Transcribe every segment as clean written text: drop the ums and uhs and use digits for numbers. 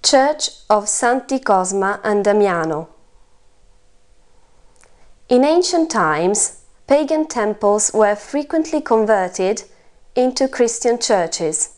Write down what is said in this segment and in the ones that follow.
Church of Santi Cosma and Damiano. In ancient times, pagan temples were frequently converted into Christian churches.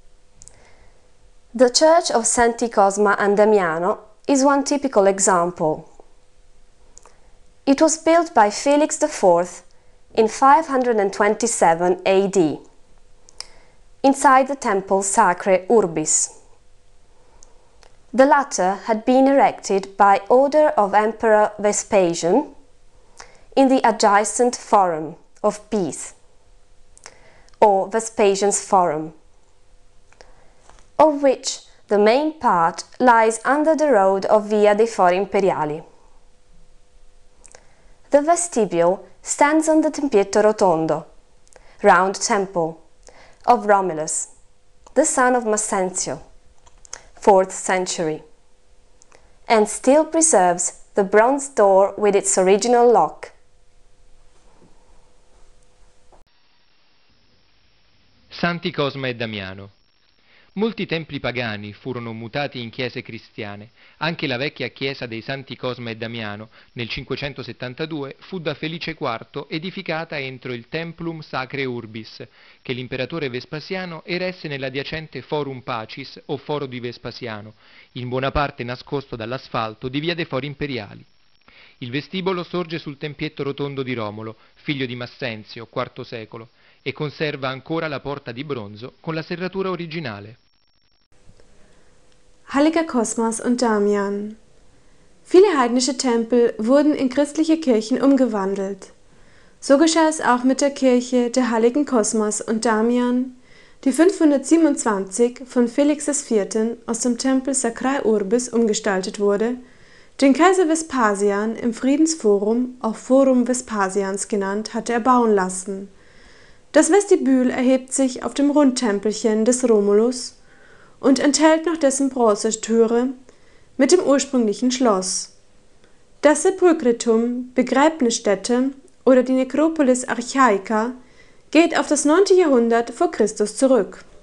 The Church of Santi Cosma and Damiano is one typical example. It was built by Felix IV in 527 AD, inside the Temple Sacrae Urbis. The latter had been erected by order of Emperor Vespasian in the adjacent Forum of Peace, or Vespasian's Forum, of which the main part lies under the road of Via dei Fori Imperiali. The vestibule stands on the Tempietto Rotondo, round temple, of Romulus, the son of Massenzio, 4th century, and still preserves the bronze door with its original lock. Santi Cosma e Damiano. Molti templi pagani furono mutati in chiese cristiane. Anche la vecchia chiesa dei Santi Cosma e Damiano, nel 572, fu da Felice IV edificata entro il Templum Sacrae Urbis, che l'imperatore Vespasiano eresse nell'adiacente Forum Pacis o Foro di Vespasiano, in buona parte nascosto dall'asfalto di Via dei Fori Imperiali. Il vestibolo sorge sul tempietto rotondo di Romolo, figlio di Massenzio, IV secolo, e conserva ancora la porta di bronzo con la serratura originale. Heiliger Kosmas und Damian. Viele heidnische Tempel wurden in christliche Kirchen umgewandelt. So geschah es auch mit der Kirche der Heiligen Kosmas und Damian, die 527 von Felix IV. Aus dem Tempel Sacrae Urbis umgestaltet wurde, den Kaiser Vespasian im Friedensforum, auch Forum Vespasians genannt, hatte erbauen lassen. Das Vestibül erhebt sich auf dem Rundtempelchen des Romulus und enthält noch dessen Bronzetüre mit dem ursprünglichen Schloss. Das Sepulchritum, Begräbnisstätte oder die Necropolis Archaica geht auf das 9. Jahrhundert vor Christus zurück.